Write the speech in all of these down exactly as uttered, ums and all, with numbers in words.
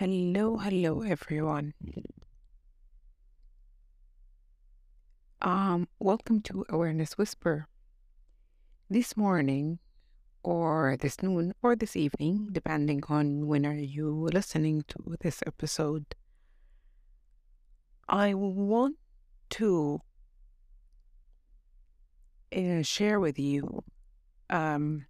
Hello, hello everyone. Um, welcome to Awareness Whisper. This morning, or this noon, or this evening, depending on when are you listening to this episode, I want to uh, share with you um,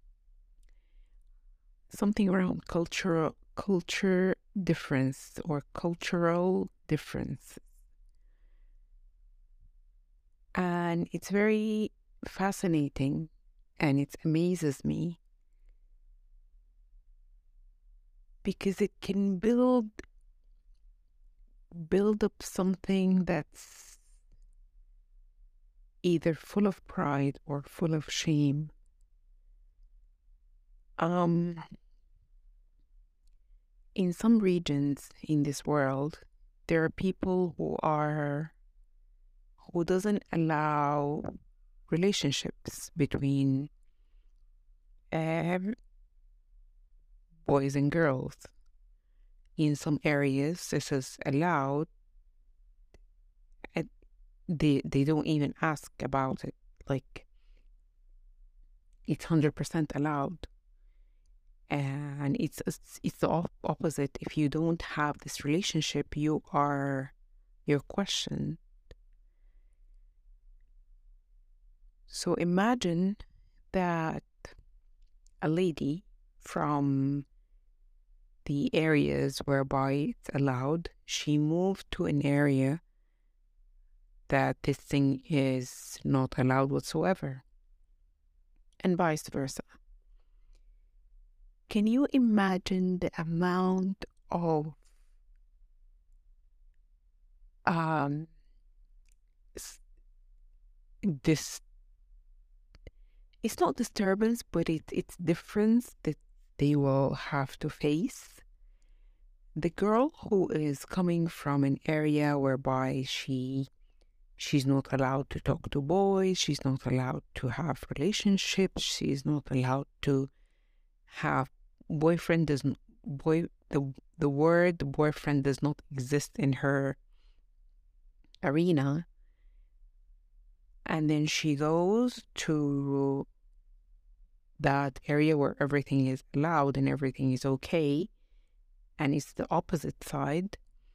something around cultural culture difference or cultural difference, and it's very fascinating, and it amazes me because it can build build up something that's either full of pride or full of shame. Um, in some regions in this world, there are people who are who doesn't allow relationships between um, boys and girls. In some areas, this is allowed. And they they don't even ask about it. Like it's hundred percent allowed. And it's it's, it's the op- opposite. If you don't have this relationship, you are you're questioned. So imagine that a lady from the areas whereby it's allowed, she moved to an area that this thing is not allowed whatsoever, and vice versa. Can you imagine the amount of um s- this it's not disturbance, but it, it's difference that they will have to face. The girl who is coming from an area whereby she she's not allowed to talk to boys, she's not allowed to have relationships, she's not allowed to have boyfriend doesn't boy the the word boyfriend does not exist in her arena. And then she goes to that area where everything is allowed and everything is okay, and it's the opposite side.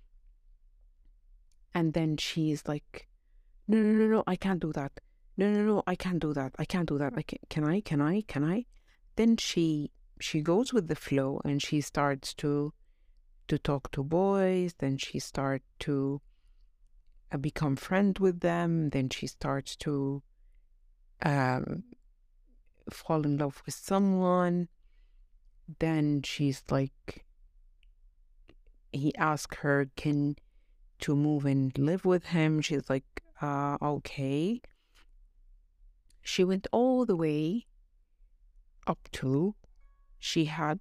And then she's like, no, no, no, no, I can't do that. No, no, no, I can't do that. I can't do that. I can, can I, can I, can I? Then she, she goes with the flow and she starts to, to talk to boys. Then she starts to uh, become friend with them. Then she starts to um, fall in love with someone. Then she's like, he asks her, can to move and live with him. She's like, uh, okay. She went all the way up to she had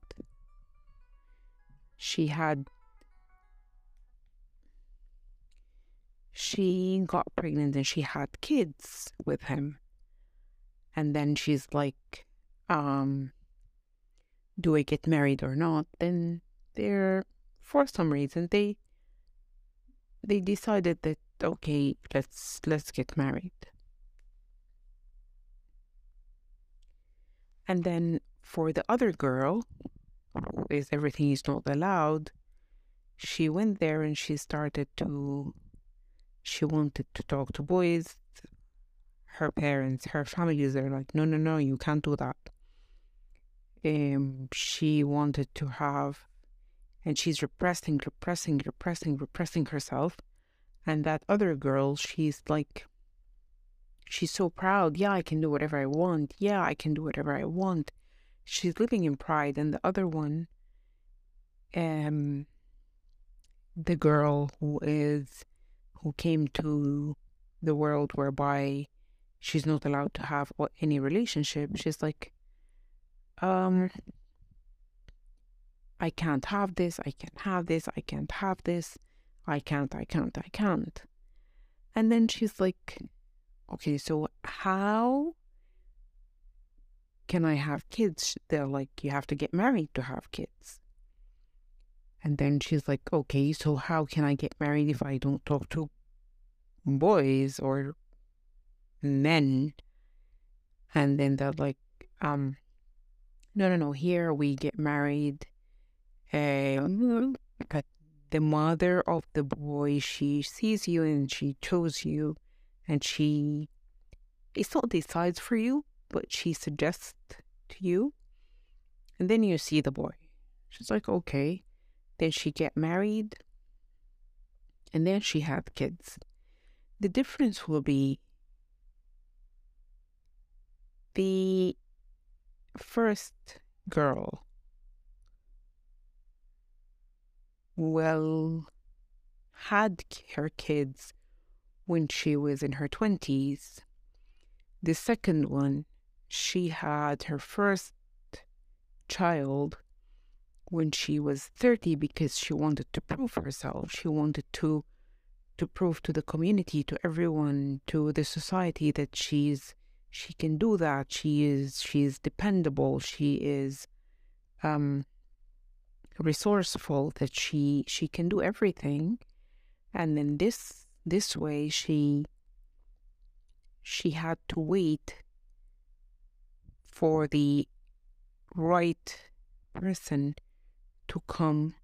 she had she got pregnant and she had kids with him. And then she's like, um, do I get married or not? Then they're for some reason they they decided that okay, let's let's get married. And then for the other girl, who is everything is not allowed, she went there and she started to she wanted to talk to boys. Her parents, her families are like, no, no, no, you can't do that. Um, she wanted to have, and she's repressing, repressing, repressing, repressing herself. And that other girl, she's like, she's so proud. Yeah, I can do whatever I want. Yeah, I can do whatever I want. She's living in pride. And the other one, um, the girl who is, who came to the world whereby she's not allowed to have any relationship, she's like, um, I can't have this, I can't have this, I can't have this, I can't, I can't, I can't. And then she's like, okay, so how can I have kids? They're like, you have to get married to have kids. And then she's like, okay, so how can I get married if I don't talk to boys or men? And then they're like, um, no, no, no, here we get married. Um, but the mother of the boy, she sees you and she chose you, and she, it's not decides for you, but she suggests to you. And then you see the boy. She's like, okay. Then she get married, and then she had kids. The difference will be the first girl well had her kids when she was in her twenties. The second one, she had her first child when she was thirty because she wanted to prove herself. She wanted to to prove to the community, to everyone, to the society that she's she can do that. She is she's dependable. She is um resourceful, that she she can do everything. And then this this way she she had to wait for the right person to come,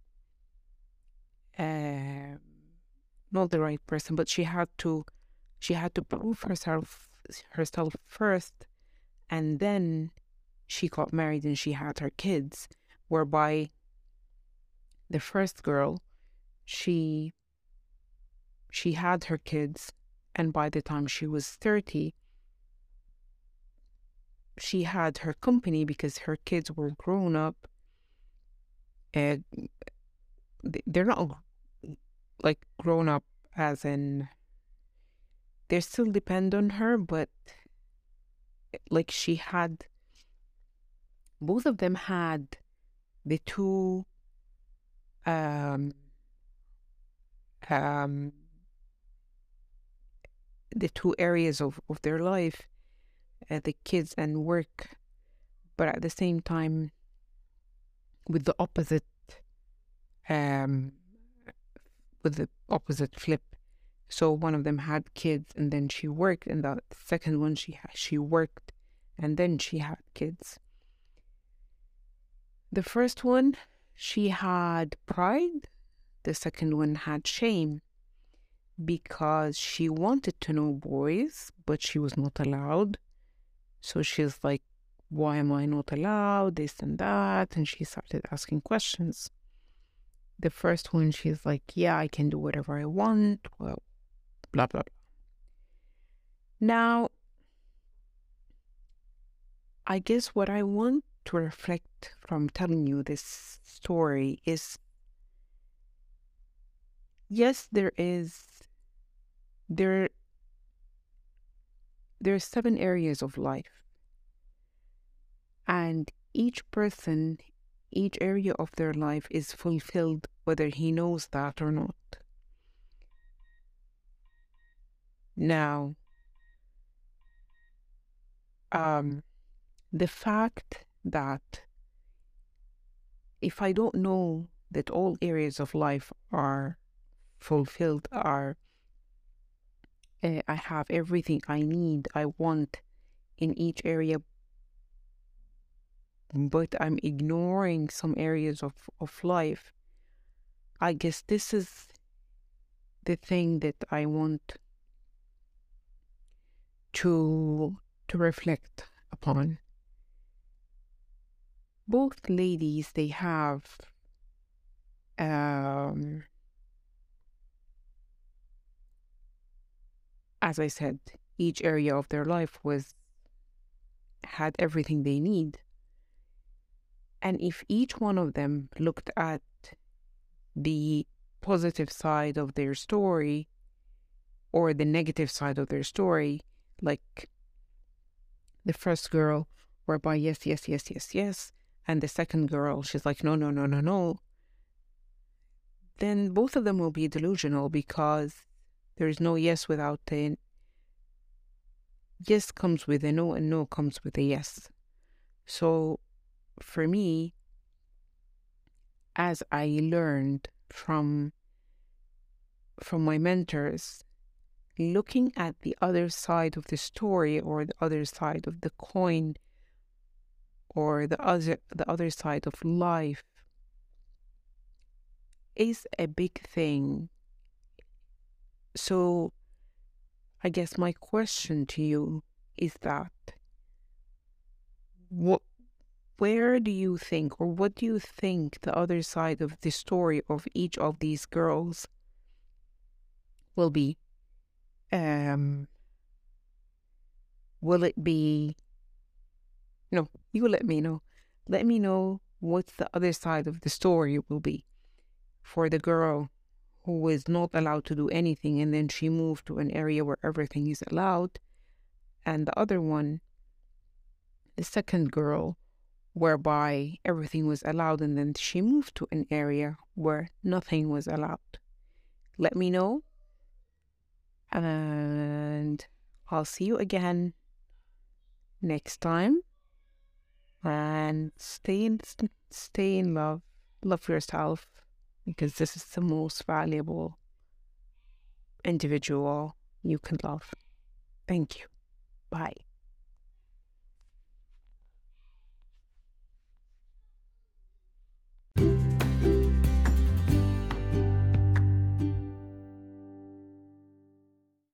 uh, not the right person, but she had to she had to prove herself herself first, and then she got married and she had her kids. Whereby the first girl, she she had her kids, and by the time she was thirty, she had her company because her kids were grown up. And they're not like grown up as in they still depend on her, but like she had, both of them had the two um um the two areas of, of their life, uh, the kids and work, but at the same time with the opposite um with the opposite flip. So one of them had kids and then she worked, and the second one she she worked and then she had kids. The first one, she had pride. The second one had shame, because she wanted to know boys, but she was not allowed. So she's like, why am I not allowed? This and that. And she started asking questions. The first one, she's like, yeah, I can do whatever I want. Well, blah, blah, blah. Now, I guess what I want to reflect from telling you this story is, yes, there is, there, there are seven areas of life. And each person, each area of their life is fulfilled whether he knows that or not. Now, um, the fact that if I don't know that all areas of life are fulfilled, are uh, I have everything I need, I want in each area, but I'm ignoring some areas of, of life, I guess this is the thing that I want to to reflect upon. Both ladies, they have um, as I said, each area of their life was had everything they need. And if each one of them looked at the positive side of their story or the negative side of their story, like the first girl, whereby yes, yes, yes, yes, yes, and the second girl, she's like, no, no, no, no, no, then both of them will be delusional, because there's no yes without a yes comes with a no, and no comes with a yes. So for me, as I learned from from my mentors, looking at the other side of the story or the other side of the coin or the other the other side of life is a big thing. So I guess my question to you is that what where do you think, or what do you think the other side of the story of each of these girls will be? Um, will it be, no, you let me know. Let me know what the other side of the story will be for the girl who was not allowed to do anything and then she moved to an area where everything is allowed, and the other one, the second girl, whereby everything was allowed and then she moved to an area where nothing was allowed. Let me know, and I'll see you again next time. And stay in, stay in love. Love yourself, because this is the most valuable individual you can love. Thank you. Bye.